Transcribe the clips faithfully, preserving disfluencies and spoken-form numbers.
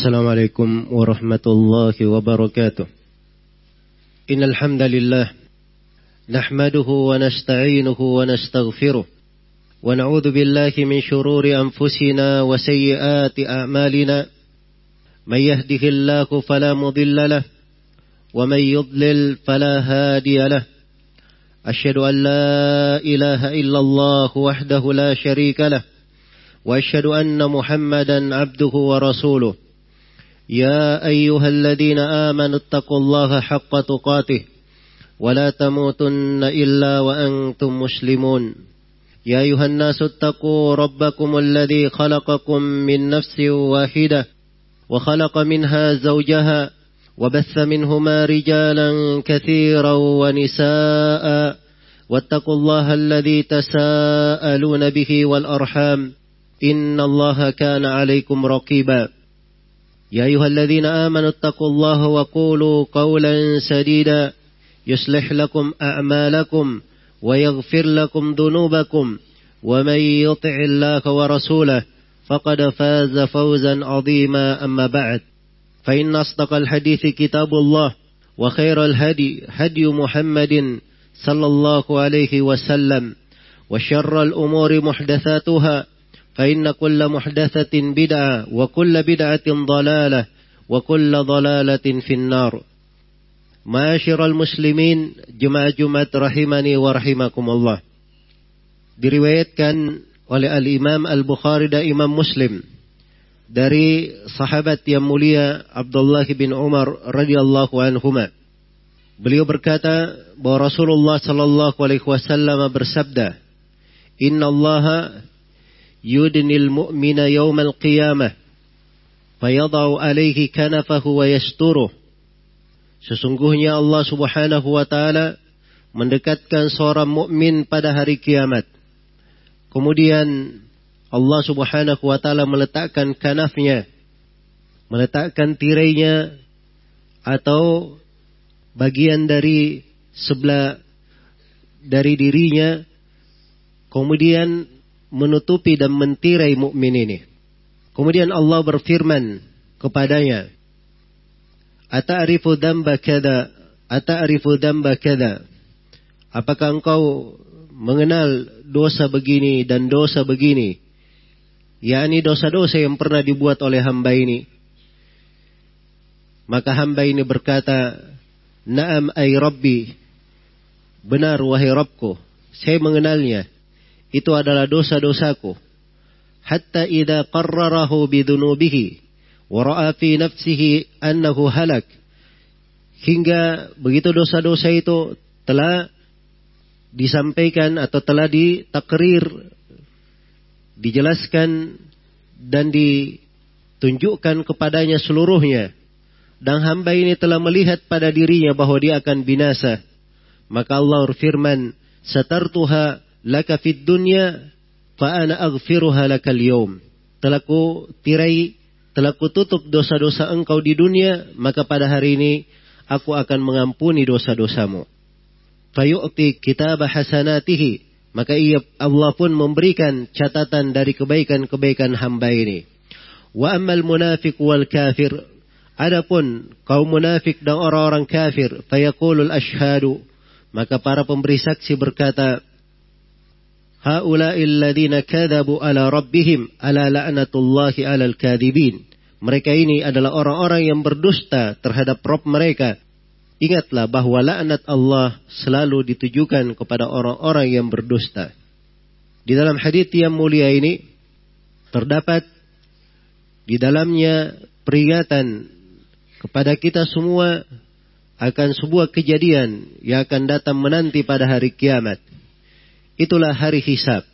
Assalamualaikum warahmatullahi wabarakatuh. Innal hamdalillah nahmaduhu wa nasta'inuhu wa nastaghfiruh wa na'udzu billahi min shururi anfusina wa sayyiati a'malina. May yahdihillahu fala mudilla lahu wa may yudlil fala hadiya lahu. Asyhadu an la ilaha illallah wahdahu la syarika lahu wa asyhadu anna Muhammadan abduhu wa rasuluh. يا أيها الذين آمنوا اتقوا الله حق تقاته ولا تموتن إلا وأنتم مسلمون. يا أيها الناس اتقوا ربكم الذي خلقكم من نفس واحدة وخلق منها زوجها وبث منهما رجالا كثيرا ونساء واتقوا الله الذي تساءلون به والأرحام إن الله كان عليكم رقيبا. يا أيها الذين آمنوا اتقوا الله وقولوا قولا سديدا يصلح لكم أعمالكم ويغفر لكم ذنوبكم ومن يطع الله ورسوله فقد فاز فوزا عظيما. أما بعد فإن أصدق الحديث كتاب الله وخير الهدي هدي محمد صلى الله عليه وسلم وشر الأمور محدثاتها فإن كل محدثة بدعة وكل بدعة ضلالة وكل ضلالة في النار. Ma'asyiral muslimin, jemaah Jumat rahimani wa rahimakumullah. Diriwayatkan oleh Al-Imam Al-Bukhari dan Imam Muslim dari sahabat yang mulia Abdullah bin Umar radhiyallahu anhuma. Beliau berkata bahwa Rasulullah sallallahu alaihi wasallam bersabda, "Inna Allaha yudnil mu'mina yawmal qiyamah fayadau alaihi kanafahu wa yasturuh." Sesungguhnya Allah subhanahu wa ta'ala mendekatkan seorang mukmin pada hari kiamat. Kemudian Allah subhanahu wa ta'ala meletakkan kanafnya, meletakkan tirainya atau bagian dari sebelah dari dirinya, kemudian menutupi dan mentirai mukmin ini. Kemudian Allah berfirman kepadanya, "Ata'rifu dzamba kada, ata'rifu dzamba kada?" Apakah engkau mengenal dosa begini dan dosa begini? yakni dosa-dosa yang pernah dibuat oleh hamba ini. Maka hamba ini berkata, "Na'am ay Rabbi." Benar wahai Rabbku, saya mengenalnya. Itu adalah dosa-dosaku. Hatta idza qarrarahu bidunubihi wa ra'a fi nafsihi annahu halak. Hingga begitu dosa-dosa itu telah disampaikan atau telah ditakrir, dijelaskan dan ditunjukkan kepadanya seluruhnya, dan hamba ini telah melihat pada dirinya bahwa dia akan binasa, maka Allah berfirman, "Satartuha laka fid dunya fa ana aghfiruha lakal yawm." Telah ku tirai, telah ku tutup dosa-dosa engkau di dunia, maka pada hari ini aku akan mengampuni dosa-dosamu. Fayu'ti kitab hasanatihi, maka ia Allah pun memberikan catatan dari kebaikan-kebaikan hamba ini. Wa ammal munafiq wal kafir, adapun kaum munafik dan orang-orang kafir, fayaqulul ashhadu, maka para pemberi saksi berkata, "Haula'il ladzina kadzabu ala rabbihim ala la'natullahi 'alal kadzibin." Mereka ini adalah orang-orang yang berdusta terhadap Rabb mereka. Ingatlah bahwa laknat Allah selalu ditujukan kepada orang-orang yang berdusta. Di dalam hadits yang mulia ini terdapat di dalamnya peringatan kepada kita semua akan sebuah kejadian yang akan datang menanti pada hari kiamat. Itulah hari hisab,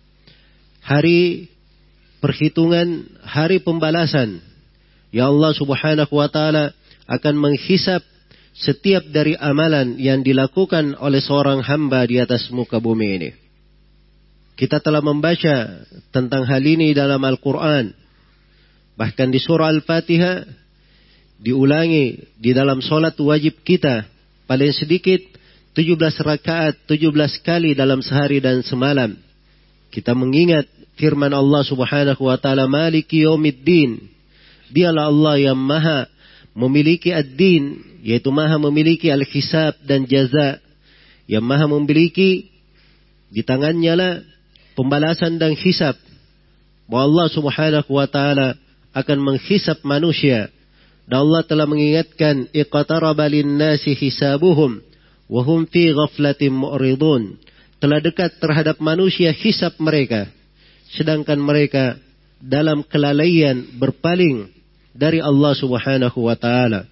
hari perhitungan, hari pembalasan. Ya Allah subhanahu wa ta'ala akan menghisab setiap dari amalan yang dilakukan oleh seorang hamba di atas muka bumi ini. Kita telah membaca tentang hal ini dalam Al-Quran. Bahkan di surah Al-Fatihah diulangi di dalam solat wajib kita paling sedikit tujuh belas rakaat, tujuh belas kali dalam sehari dan semalam. Kita mengingat firman Allah subhanahu wa ta'ala, "Maliki yaumiddin." Dialah Allah yang maha memiliki ad-din, yaitu maha memiliki al-hisab dan jaza, yang maha memiliki di tangannya lah pembalasan dan hisab. Bahwa Allah subhanahu wa ta'ala akan menghisab manusia. Dan Allah telah mengingatkan, iqtaraba lin-nasi hisabuhum wa hum fi ghaflatin mu'ridun. Telah dekat terhadap manusia hisab mereka, sedangkan mereka dalam kelalaian berpaling dari Allah subhanahu wa ta'ala.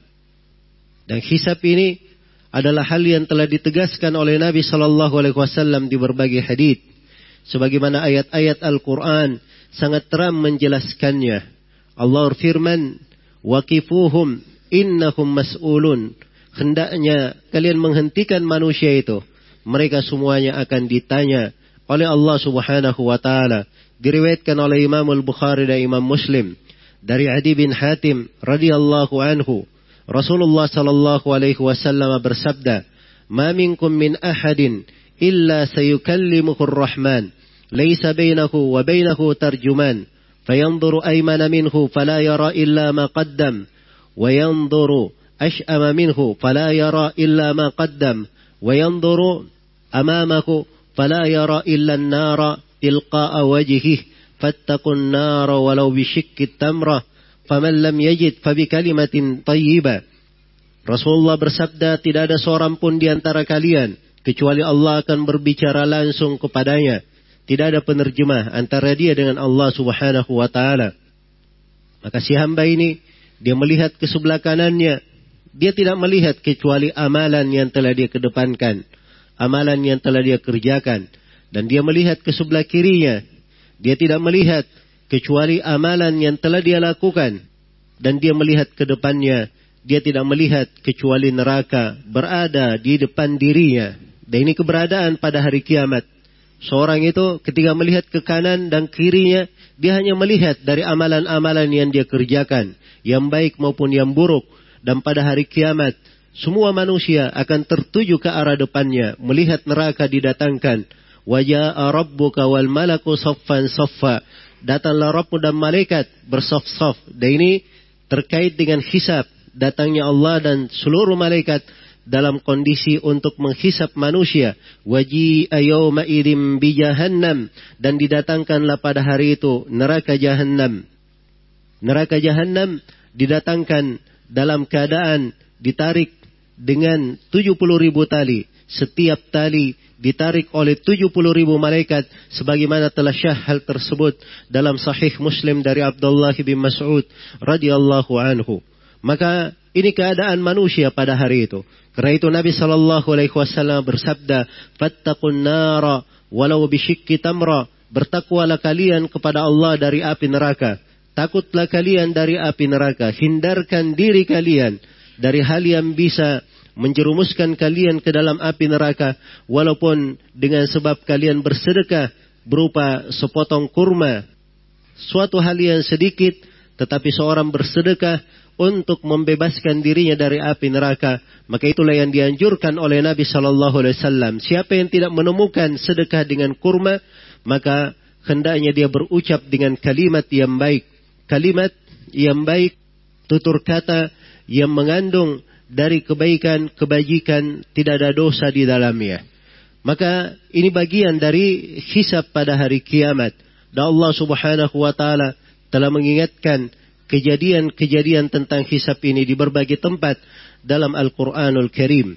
Dan hisab ini adalah hal yang telah ditegaskan oleh Nabi sallallahu alaihi wasallam di berbagai hadits. Sebagaimana ayat-ayat Al-Quran sangat terang menjelaskannya. Allah berfirman, waqifuhum innahum mas'ulun. Hendaknya kalian menghentikan manusia itu. Mereka semuanya akan ditanya oleh Allah subhanahu wa ta'ala. Diriwayatkan oleh Imam Al-Bukhari dan Imam Muslim dari Adi bin Hatim radhiyallahu anhu, Rasulullah sallallahu alaihi wasallam bersabda, "Ma minkum min ahadin illa sayukallimuhu ar-Rahman, laisa bainahu wa bainahu tarjuman, fayanzuru aymana minhu fala yara illa ma qaddam, wa yanzuru ash'ama minhu fala yara illa ma qaddam, wa yanzuru amamahu fala yara illa an-nara tilqa'a wajhihi." Fattaqun nara walau bisyikki tamrah, faman lam yajid fabikalimatin tayyibah. Rasulullah bersabda, tidak ada seorang pun di antara kalian kecuali Allah akan berbicara langsung kepadanya. Tidak ada penerjemah antara dia dengan Allah subhanahu wa ta'ala. Maka si hamba ini, dia melihat ke sebelah kanannya, dia tidak melihat kecuali amalan yang telah dia kedepankan, amalan yang telah dia kerjakan. Dan dia melihat ke sebelah kirinya, dia tidak melihat kecuali amalan yang telah dia lakukan. Dan dia melihat ke depannya, dia tidak melihat kecuali neraka berada di depan dirinya. Dan ini keberadaan pada hari kiamat. Seorang itu ketika melihat ke kanan dan kirinya, dia hanya melihat dari amalan-amalan yang dia kerjakan, yang baik maupun yang buruk. Dan pada hari kiamat, semua manusia akan tertuju ke arah depannya, melihat neraka didatangkan. Waja'a rabbuka wal malaku saffan saffa. Datanglah Rabbmu dan malaikat bersaf-saf. Dan ini terkait dengan hisab. Datangnya Allah dan seluruh malaikat dalam kondisi untuk menghisab manusia. Waji'a yawma idzin bi jahannam. Dan didatangkanlah pada hari itu neraka jahannam. Neraka jahannam didatangkan dalam keadaan ditarik dengan tujuh puluh ribu tali. Setiap tali ditarik oleh tujuh puluh ribu malaikat, sebagaimana telah syah hal tersebut dalam Sahih Muslim dari Abdullah bin Mas'ud radhiyallahu anhu. Maka ini keadaan manusia pada hari itu. Karena itu Nabi sallallahu alaihi wasallam bersabda, "Fattaqun nara walau bisyikki tamra." Bertakwalah kalian kepada Allah dari api neraka. Takutlah kalian dari api neraka. Hindarkan diri kalian dari hal yang bisa menjerumuskan kalian ke dalam api neraka, walaupun dengan sebab kalian bersedekah berupa sepotong kurma, suatu hal yang sedikit, tetapi seorang bersedekah untuk membebaskan dirinya dari api neraka, maka itulah yang dianjurkan oleh Nabi Sallallahu Alaihi Wasallam. Siapa yang tidak menemukan sedekah dengan kurma, maka hendaknya dia berucap dengan kalimat yang baik, kalimat yang baik, tutur kata yang mengandung dari kebaikan, kebajikan, tidak ada dosa di dalamnya. Maka ini bagian dari hisab pada hari kiamat. Dan Allah subhanahu wa ta'ala telah mengingatkan kejadian-kejadian tentang hisab ini di berbagai tempat dalam Al-Quranul Karim.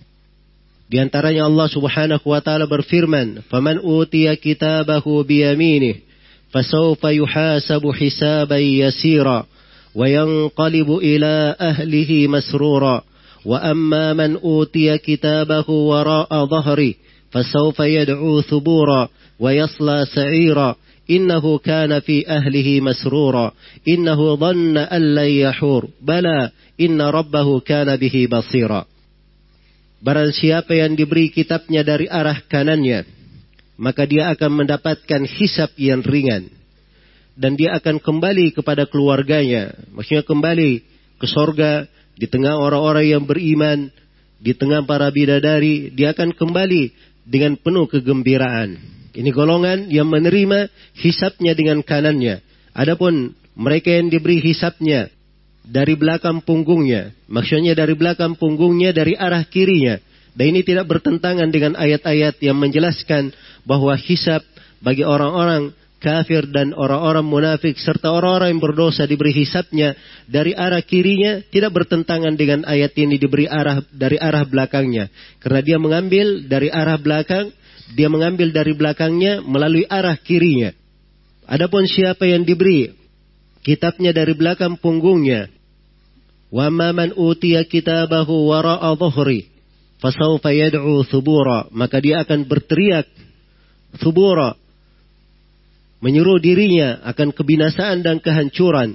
Di antaranya Allah subhanahu wa ta'ala berfirman, "Faman utiya kitabahu biyaminih, fasawfa yuhasabu hisaban yasira. وينقلب إلى أهله مسرورا وأما من أوتي كتابه وراء ظهره فسوف يدعو ثبورا ويصلى سعيرا إنه كان في أهله مسرورا إنه ظن أن لن يحور بلى إن ربه كان به بصيرا." Barang siapa yang diberi kitabnya dari arah kanannya, maka dia akan mendapatkan hisab yang ringan. Dan dia akan kembali kepada keluarganya. Maksudnya kembali ke sorga. Di tengah orang-orang yang beriman. Di tengah para bidadari. Dia akan kembali dengan penuh kegembiraan. Ini golongan yang menerima hisabnya dengan kanannya. Adapun mereka yang diberi hisabnya dari belakang punggungnya. Maksudnya dari belakang punggungnya, dari arah kirinya. Dan ini tidak bertentangan dengan ayat-ayat yang menjelaskan bahwa hisab bagi orang-orang kafir dan orang-orang munafik serta orang-orang yang berdosa diberi hisabnya dari arah kirinya, tidak bertentangan dengan ayat ini diberi arah dari arah belakangnya. Karena dia mengambil dari arah belakang, dia mengambil dari belakangnya melalui arah kirinya. Adapun siapa yang diberi kitabnya dari belakang punggungnya, wa man utiya kitabahu wara'a dhuhri fasawfa yad'u thubura, maka dia akan berteriak thubura, menyuruh dirinya akan kebinasaan dan kehancuran.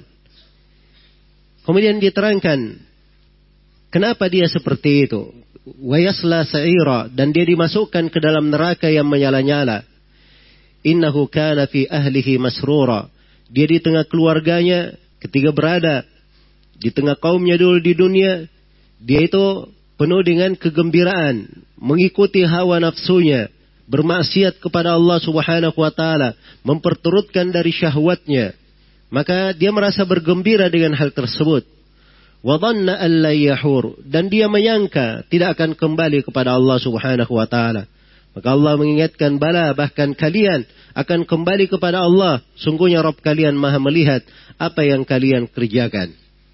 Kemudian diterangkan kenapa dia seperti itu. Wa yasla sa'ira, dan dia dimasukkan ke dalam neraka yang menyala-nyala. Innahu kana fi ahlihi masrura, dia di tengah keluarganya ketika berada di tengah kaumnya dulu di dunia, dia itu penuh dengan kegembiraan, mengikuti hawa nafsunya, bermaksiat kepada Allah Subhanahu wa taala, memperturutkan dari syahwatnya. Maka dia merasa bergembira dengan hal tersebut. Wa dhanna an la yahur, dan dia menyangka tidak akan kembali kepada Allah Subhanahu wa taala. Maka Allah mengingatkan, bala, bahkan kalian akan kembali kepada Allah. Sungguhnya Rabb kalian maha melihat apa yang kalian kerjakan.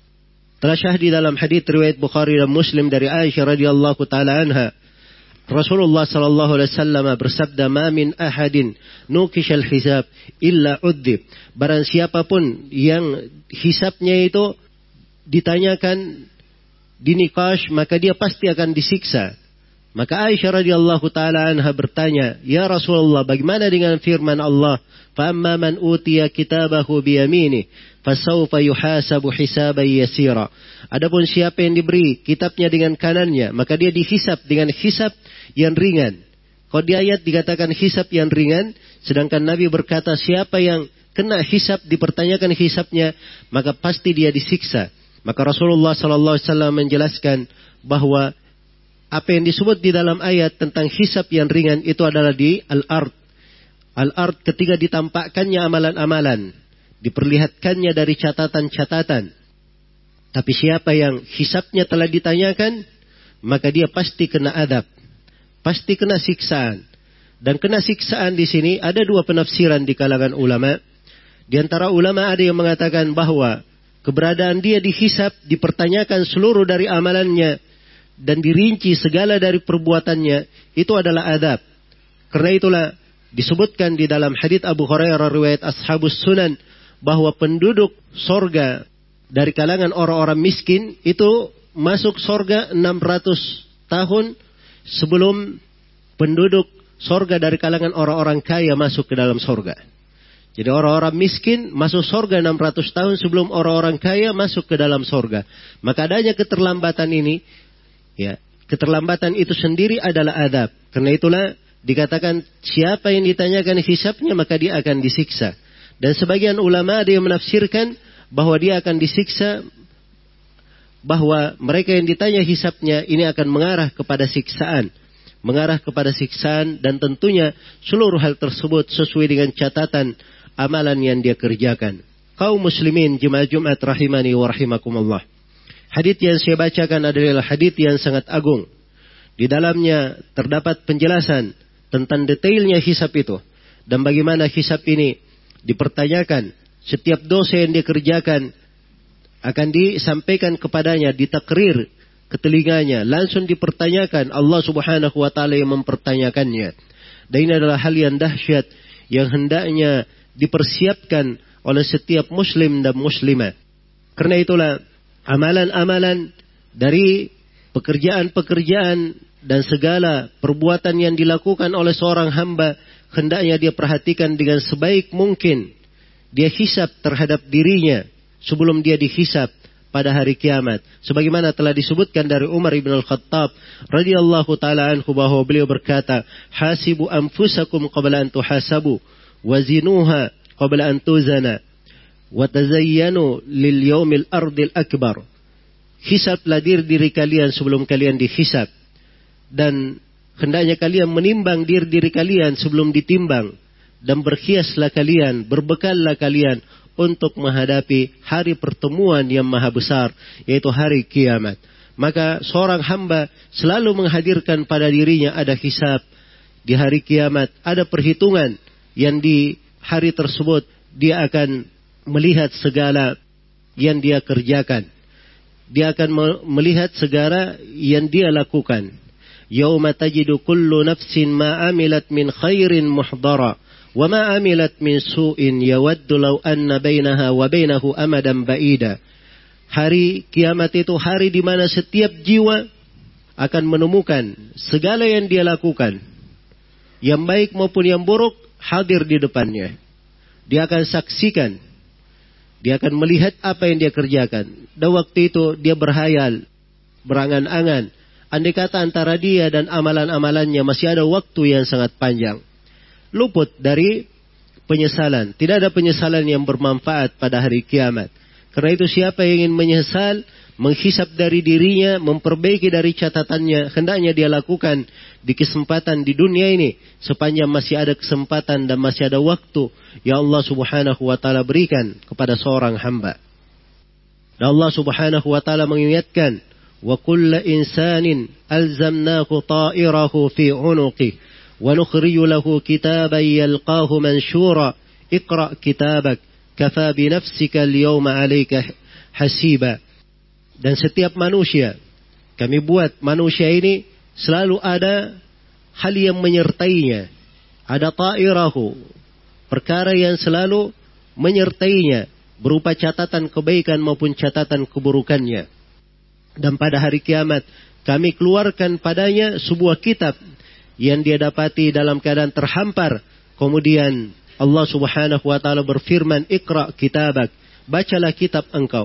Telah syahdi dalam hadits riwayat Bukhari dan Muslim dari Aisyah radhiyallahu taala anha, Rasulullah sallallahu alaihi wasallam bersabda, "Ma min ahadin nukishal hisab illa udzib." Barang siapapun yang hisabnya itu ditanyakan, dinikash, maka dia pasti akan disiksa. Maka Aisyah radhiyallahu taala anha bertanya, "Ya Rasulullah, bagaimana dengan firman Allah, fa amma man utiya kitabahu bi yamini fasawfa yuhasabu hisaban yasira." Adapun siapa yang diberi kitabnya dengan kanannya, maka dia dihisab dengan hisab yang ringan. Kalau di ayat dikatakan hisab yang ringan, sedangkan Nabi berkata siapa yang kena hisab, dipertanyakan hisabnya, maka pasti dia disiksa. Maka Rasulullah sallallahu alaihi wasallam menjelaskan bahwa apa yang disebut di dalam ayat tentang hisab yang ringan itu adalah di al-ard. Al-ard ketika ditampakkannya amalan-amalan, diperlihatkannya dari catatan-catatan. Tapi siapa yang hisabnya telah ditanyakan, maka dia pasti kena adab, pasti kena siksaan. Dan kena siksaan di sini ada dua penafsiran di kalangan ulama. Di antara ulama ada yang mengatakan bahwa keberadaan dia dihisab, dipertanyakan seluruh dari amalannya, dan dirinci segala dari perbuatannya, itu adalah adab. Karena itulah disebutkan di dalam hadits Abu Hurairah riwayat Ashabus Sunan bahwa penduduk sorga dari kalangan orang-orang miskin itu masuk sorga enam ratus tahun sebelum penduduk sorga dari kalangan orang-orang kaya masuk ke dalam sorga. Jadi orang-orang miskin masuk sorga enam ratus tahun sebelum orang-orang kaya masuk ke dalam sorga. Maka adanya keterlambatan ini, ya, keterlambatan itu sendiri adalah adab. Karena itulah dikatakan siapa yang ditanyakan hisabnya maka dia akan disiksa. Dan sebagian ulama ada yang menafsirkan bahwa dia akan disiksa, bahwa mereka yang ditanya hisabnya ini akan mengarah kepada siksaan. Mengarah kepada siksaan, dan tentunya seluruh hal tersebut sesuai dengan catatan amalan yang dia kerjakan. Kaum muslimin jemaah Jumat rahimani wa rahimakumullah. Hadits yang saya bacakan adalah hadits yang sangat agung. Di dalamnya terdapat penjelasan tentang detailnya hisab itu. Dan bagaimana hisab ini dipertanyakan. Setiap dosa yang dia kerjakan akan disampaikan kepadanya, ditakrir ke telinganya. Langsung dipertanyakan, Allah Subhanahu wa ta'ala yang mempertanyakannya. Dan ini adalah hal yang dahsyat yang hendaknya dipersiapkan oleh setiap muslim dan muslimah. Karena itulah amalan-amalan dari pekerjaan-pekerjaan dan segala perbuatan yang dilakukan oleh seorang hamba hendaknya dia perhatikan dengan sebaik mungkin. Dia hisab terhadap dirinya sebelum dia dihisab pada hari kiamat. Sebagaimana telah disebutkan dari Umar ibn al-Khattab radhiyallahu taala anhu bahwa beliau berkata, "Hasibu anfusakum qabla an tuhasabu, wazinuha qabla an tuzana, wa tazayyanu lil yaumil ardil akbar." Hisablah diri diri kalian sebelum kalian dihisab, dan hendaknya kalian menimbang diri diri kalian sebelum ditimbang, dan berhiaslah kalian, berbekallah kalian untuk menghadapi hari pertemuan yang maha besar, yaitu hari kiamat. Maka seorang hamba selalu menghadirkan pada dirinya ada hisab di hari kiamat, ada perhitungan yang di hari tersebut dia akan melihat segala yang dia kerjakan. Dia akan melihat segala yang dia lakukan. Yauma tajidu kullu nafsin ma amilat min khairin muhdara wa ma amilat min su'in yawaddu law anna bainaha wa bainahu amadan ba'ida. Hari kiamat itu hari di mana setiap jiwa akan menemukan segala yang dia lakukan, yang baik maupun yang buruk, hadir di depannya. Dia akan saksikan, dia akan melihat apa yang dia kerjakan. Dan waktu itu dia berhayal, berangan-angan, andai kata antara dia dan amalan-amalannya masih ada waktu yang sangat panjang. Luput dari penyesalan. Tidak ada penyesalan yang bermanfaat pada hari kiamat. Karena itu siapa yang ingin menyesal, menghisap dari dirinya, memperbaiki dari catatannya, hendaknya dia lakukan di kesempatan di dunia ini, sepanjang masih ada kesempatan dan masih ada waktu yang Allah subhanahu wa ta'ala berikan kepada seorang hamba. Dan Allah subhanahu wa ta'ala mengingatkan, wa kulla insanin alzamnahu ta'irahu fi unuqih wa nukhriju lahu kitaban yalqahu manshura iqra' kitabak kafa bi nafsika al-yawma 'alaika hasiba. Dan setiap manusia, kami buat manusia ini selalu ada hal yang menyertainya. Ada ta'irahu, perkara yang selalu menyertainya, berupa catatan kebaikan maupun catatan keburukannya. Dan pada hari kiamat, kami keluarkan padanya sebuah kitab yang dia dapati dalam keadaan terhampar. Kemudian Allah subhanahu wa ta'ala berfirman, Iqra' kitabak, bacalah kitab engkau.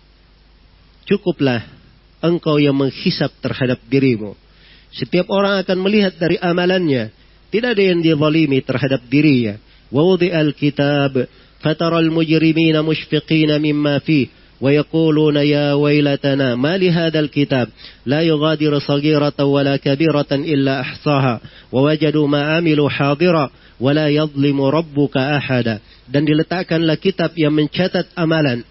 Cukuplah engkau yang menghisap terhadap dirimu. Setiap orang akan melihat dari amalannya. Tidak ada yang dia zalimi terhadap dirinya. Wa wudi'al kitab, fataral mujrimina mushfiqina mimma fih, wa yaquluna ya waylatana, ma li hadzal kitab, la yughadiru saghiratan wala kabiratan illa ahsaha, wa wajadu ma amilu hadira, wa la yadhlimu rabbuka ahada. Dan diletakkanlah kitab yang mencatat amalan.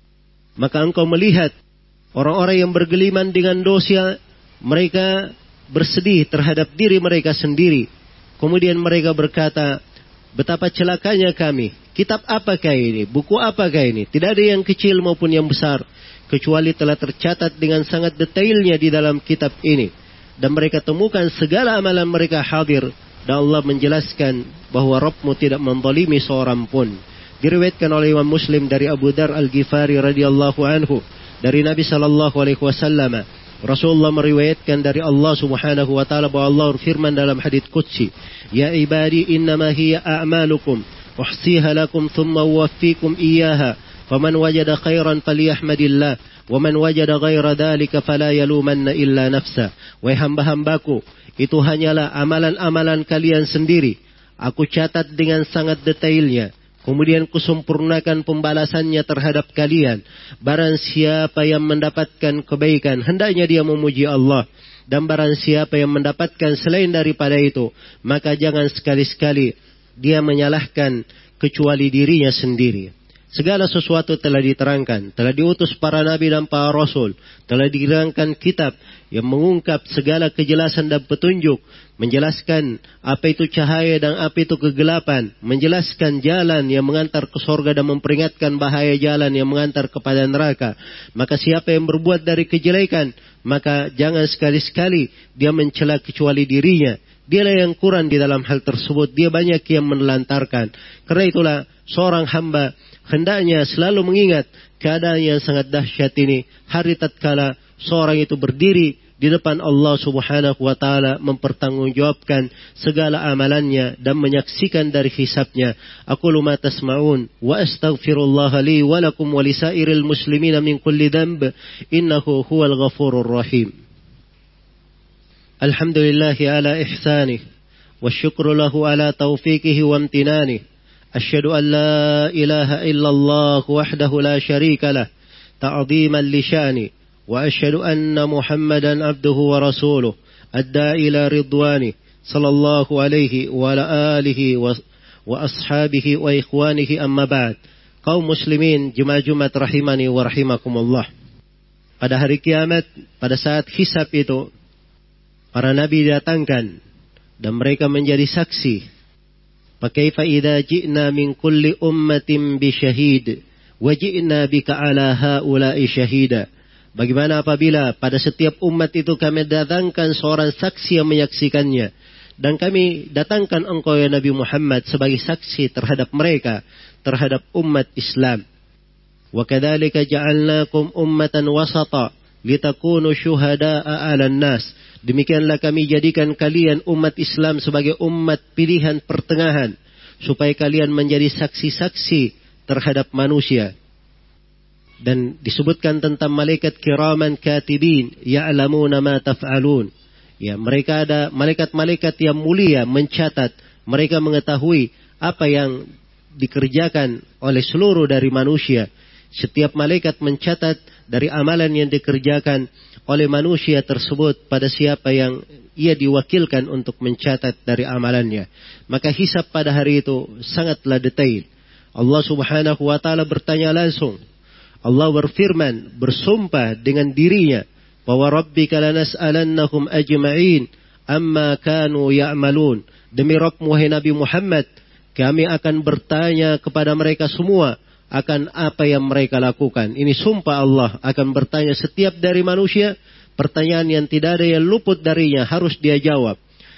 Maka engkau melihat orang-orang yang bergeliman dengan dosa, mereka bersedih terhadap diri mereka sendiri. Kemudian mereka berkata, betapa celakanya kami. Kitab apakah ini? Buku apakah ini? Tidak ada yang kecil maupun yang besar, kecuali telah tercatat dengan sangat detailnya di dalam kitab ini. Dan mereka temukan segala amalan mereka hadir. Dan Allah menjelaskan bahwa Rabbmu tidak menzalimi seorang pun. Diriwayatkan oleh Imam Muslim dari Abu Dar Al-Ghifari radhiyallahu anhu, dari Nabi sallallahu alaihi wasallam, Rasulullah meriwayatkan dari Allah subhanahu wa ta'ala bahwa Allah berfirman dalam hadits qudsi, ya ibadi innama hiya a'malukum uhsiha lakum thumma uwaffikum iyyaha faman wajada khairan falyahmadillah wa man wajada ghaira dhalika fala yalumanna illa nafsa. Wahai hamba-hambaku, itu hanyalah amalan-amalan kalian sendiri. Aku catat dengan sangat detailnya. Kemudian kusempurnakan pembalasannya terhadap kalian. Barang siapa yang mendapatkan kebaikan, hendaknya dia memuji Allah. Dan barang siapa yang mendapatkan selain daripada itu, maka jangan sekali-sekali dia menyalahkan kecuali dirinya sendiri. Segala sesuatu telah diterangkan, telah diutus para nabi dan para rasul, telah diterangkan kitab yang mengungkap segala kejelasan dan petunjuk, menjelaskan apa itu cahaya dan apa itu kegelapan, menjelaskan jalan yang mengantar ke surga dan memperingatkan bahaya jalan yang mengantar kepada neraka. Maka siapa yang berbuat dari kejelekan, maka jangan sekali-sekali dia mencela kecuali dirinya. Dialah yang kurang di dalam hal tersebut. Dia banyak yang menelantarkan. Karena itulah seorang hamba hendaknya selalu mengingat keadaan yang sangat dahsyat ini. Hari tatkala seorang itu berdiri di depan Allah subhanahu wa ta'ala, mempertanggungjawabkan segala amalannya dan menyaksikan dari hisabnya. Aqulu ma tasma'un wa astaghfirullaha li wa lakum wa lisairil muslimina min kulli dhanb innahu huwal ghafurur rahim. Alhamdulillahi ala ihsanih wa syukru lahu ala taufiqihi wa amtinanih. Asyhadu an la ilaha illallah wahdahu la syarika lah ta'ziman li sya'ni. وأشهد أن محمدا عبده ورسوله أدى إلى رضوانه صلى الله عليه وعلى آله وأصحابه وإخوانه أما بعد. kaum muslimin jemaah Jumat rahimani wa rahimakumullah. Pada hari kiamat, pada saat hisab itu, para nabi didatangkan dan mereka menjadi saksi. Fakaifa idza ji'na min kulli ummatin bi syahid wa ji'na bika ala haula'i syahida. Bagaimana apabila pada setiap umat itu kami datangkan seorang saksi yang menyaksikannya, dan kami datangkan engkau ya Nabi Muhammad sebagai saksi terhadap mereka, terhadap umat Islam. Wa kadzalika ja'alnakum ummatan wasata litakunu syuhada'a 'alan nas. Demikianlah kami jadikan kalian umat Islam sebagai umat pilihan pertengahan, supaya kalian menjadi saksi-saksi terhadap manusia. Dan disebutkan tentang malaikat kiraman katibin ya'lamuna ma taf'alun. Ya, mereka ada malaikat-malaikat yang mulia mencatat, mereka mengetahui apa yang dikerjakan oleh seluruh dari manusia. Setiap malaikat mencatat dari amalan yang dikerjakan oleh manusia tersebut pada siapa yang ia diwakilkan untuk mencatat dari amalannya. Maka hisab pada hari itu sangatlah detail. Allah Subhanahu wa taala bertanya langsung. Allah berfirman, bersumpah dengan dirinya, bahwa rabbika lanas'alannahum ajma'in amma kanu ya'malun. Demi Rabbmu wahai Nabi Muhammad, kami akan bertanya kepada mereka semua akan apa yang mereka lakukan. Ini sumpah Allah, akan bertanya setiap dari manusia, pertanyaan yang tidak ada yang luput darinya, harus dia jawab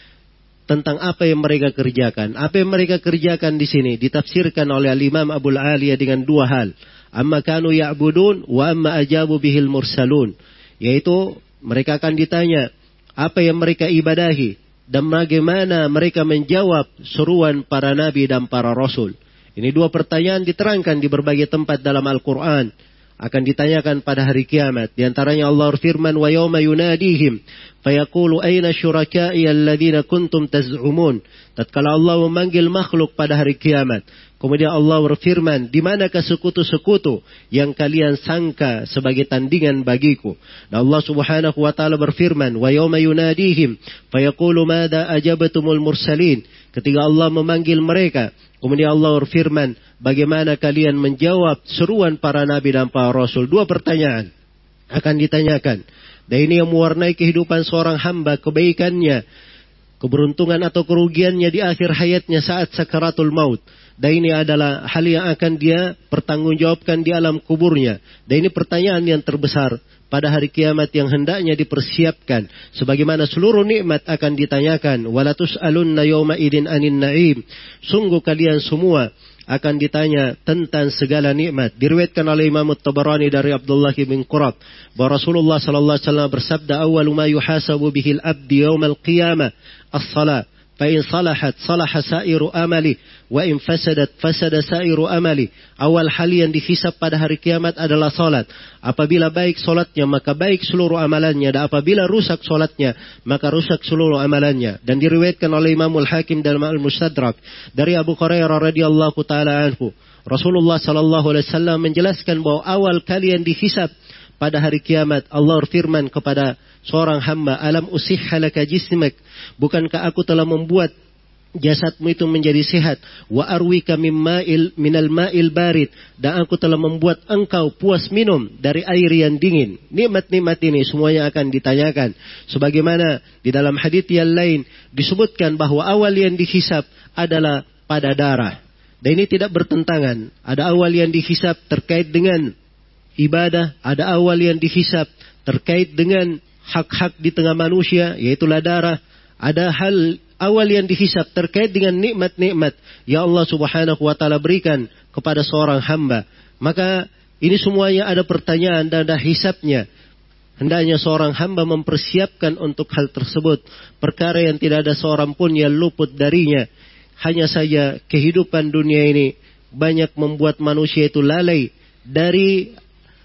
tentang apa yang mereka kerjakan. Apa yang mereka kerjakan di sini ditafsirkan oleh Al-Imam Abul Aliyah dengan dua hal. Amma kanu ya'budun wa amma ajabu bihil mursalun. Yaitu mereka akan ditanya apa yang mereka ibadahi dan bagaimana mereka menjawab seruan para nabi dan para rasul. Ini dua pertanyaan diterangkan di berbagai tempat dalam Al-Quran. Akan ditanyakan pada hari kiamat. Di antaranya Allah berfirman, wa yawma yunadihim fayaqulu ayna syuraka'i alladhina kuntum taz'umun. Tatkala Allah memanggil makhluk pada hari kiamat, kemudian Allah berfirman, di manakah sekutu-sekutu yang kalian sangka sebagai tandingan bagiku? Dan Allah Subhanahu wa taala berfirman, wa yawma yunadihim fayaqulu madza ajabatumul mursalin. Ketika Allah memanggil mereka, kemudian Allah berfirman, bagaimana kalian menjawab seruan para nabi dan para rasul? Dua pertanyaan akan ditanyakan. Dan ini yang mewarnai kehidupan seorang hamba, kebaikannya, keberuntungan atau kerugiannya di akhir hayatnya saat sakaratul maut. Dan ini adalah hal yang akan dia pertanggungjawabkan di alam kuburnya. Dan ini pertanyaan yang terbesar pada hari kiamat yang hendaknya dipersiapkan. Sebagaimana seluruh nikmat akan ditanyakan. Wala tus'alunna yawma idin anin na'im. Sungguh kalian semua akan ditanya tentang segala nikmat. Diriwayatkan oleh Imam At-Tabarani dari Abdullah bin Qurab bahwa Rasulullah sallallahu alaihi wasallam bersabda, awwalu ma yuhasabu bihil abdi yawmal qiyamah as-salat. Fa'in salahat salaha sa'iru amali, wa in fasadat fasada sa'iru amali. Awal hal yang dihisab pada hari kiamat adalah salat. Apabila baik salatnya, maka baik seluruh amalannya. Dan apabila rusak salatnya, maka rusak seluruh amalannya. Dan diriwayatkan oleh Imamul Hakim dalam Al-Mustadrak dari Abu Hurairah radhiyallahu taala anhu, Rasulullah sallallahu alaihi wasallam menjelaskan bahwa awal kali yang dihisab pada hari kiamat, Allah berfirman kepada seorang hamba, alam usihha laka jismak, bukankah aku telah membuat jasadmu itu menjadi sehat, wa arwika mimma'il minal ma'il barid, dan aku telah membuat engkau puas minum dari air yang dingin. Nikmat-nikmat ini semuanya akan ditanyakan. Sebagaimana di dalam hadits yang lain disebutkan bahwa awal yang dihisab adalah pada darah. Dan ini tidak bertentangan. Ada awal yang dihisab terkait dengan ibadah, ada awal yang dihisab terkait dengan hak-hak di tengah manusia, yaitulah darah. Ada hal awal yang dihisab terkait dengan nikmat-nikmat yang Allah Subhanahu wa taala berikan kepada seorang hamba. Maka ini semuanya ada pertanyaan dan ada hisabnya. Hendaknya seorang hamba mempersiapkan untuk hal tersebut. Perkara yang tidak ada seorang pun yang luput darinya. Hanya saja kehidupan dunia ini banyak membuat manusia itu lalai dari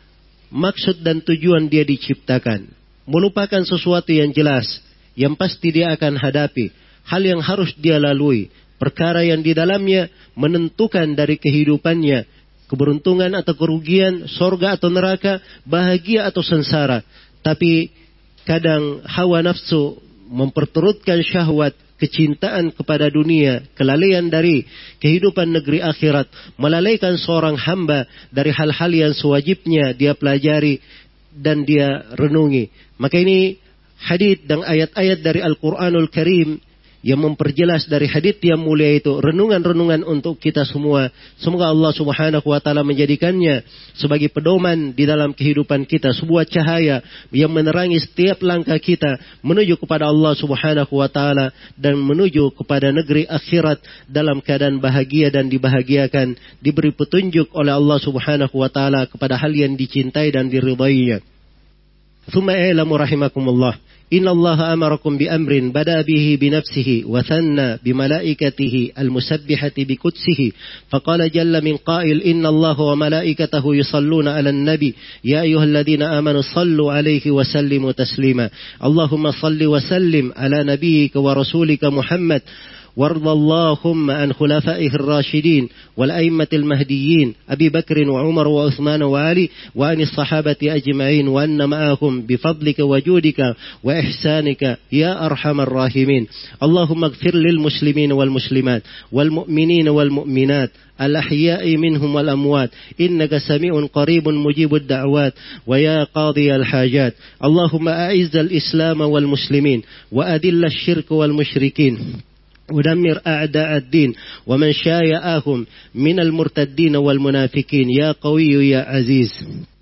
maksud dan tujuan dia diciptakan. Melupakan sesuatu yang jelas, yang pasti dia akan hadapi. Hal yang harus dia lalui. Perkara yang di dalamnya menentukan dari kehidupannya. Keberuntungan atau kerugian, sorga atau neraka, bahagia atau sengsara. Tapi kadang hawa nafsu memperturutkan syahwat. kecintaan kepada dunia, kelalaian dari kehidupan negeri akhirat, melalaikan seorang hamba dari hal-hal yang sewajibnya dia pelajari dan dia renungi. Maka ini hadits dan ayat-ayat dari Al-Quranul Karim yang memperjelas dari hadits yang mulia itu, renungan-renungan untuk kita semua. Semoga Allah Subhanahu wa taala menjadikannya sebagai pedoman di dalam kehidupan kita, sebuah cahaya yang menerangi setiap langkah kita menuju kepada Allah Subhanahu wa taala dan menuju kepada negeri akhirat dalam keadaan bahagia dan dibahagiakan, diberi petunjuk oleh Allah Subhanahu wa taala kepada hal yang dicintai dan diridainya. Tsumma i'lamu rahimakumullah, إن الله أمركم بأمر بدأ به بنفسه وثنى بملائكته المسبحة بقدسه فقال جل من قائل إن الله وملائكته يصلون على النبي يا أيها الذين آمنوا صلوا عليه وسلموا تسليما اللهم صل وسلم على نبيك ورسولك محمد وارض اللهم عن خلفائه الراشدين والأئمة المهديين أبي بكر وعمر وعثمان وعلي وعن الصحابة أجمعين وأن معهم بفضلك وجودك وإحسانك يا أرحم الراحمين اللهم اغفر للمسلمين والمسلمات والمؤمنين والمؤمنات الأحياء منهم والأموات إنك سميع قريب مجيب الدعوات ويا قاضي الحاجات اللهم أعز الإسلام والمسلمين وأذل الشرك والمشركين ودمر أعداء الدين ومن شايعهم من المرتدين والمنافقين يا قوي يا عزيز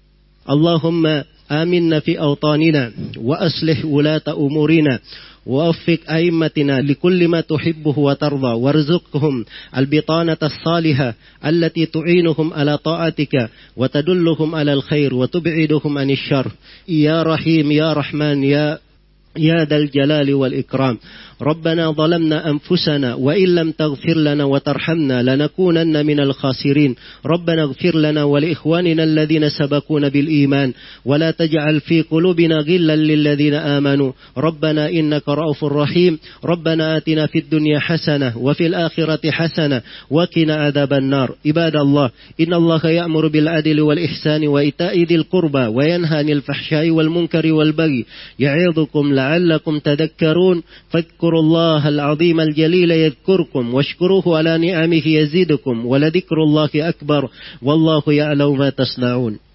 اللهم آمنا في أوطاننا وأصلح ولاة أمورنا ووفق أئمتنا لكل ما تحبه وترضى وارزقهم البطانة الصالحة التي تعينهم على طاعتك وتدلهم على الخير وتبعدهم عن الشر يا رحيم يا رحمن يا يا ذا الجلال والإكرام ربنا ظلمنا أنفسنا وإن لم تغفر لنا وترحمنا لنكونن من الخاسرين ربنا اغفر لنا ولإخواننا الذين سبقونا بالإيمان ولا تجعل في قلوبنا غلا للذين آمنوا ربنا إنك رؤوف رحيم ربنا آتنا في الدنيا حسنة وفي الآخرة حسنة وقنا عذاب النار عباد الله إن الله يأمر بالعدل والإحسان وإيتاء ذي القربى وينهى عن الفحشاء والمنكر والبغي يعظكم لعلكم تذكرون فاذكروا الله العظيم الجليل يذكركم واشكروه على نعمه يزيدكم ولذكر الله أكبر والله يعلم ما تصنعون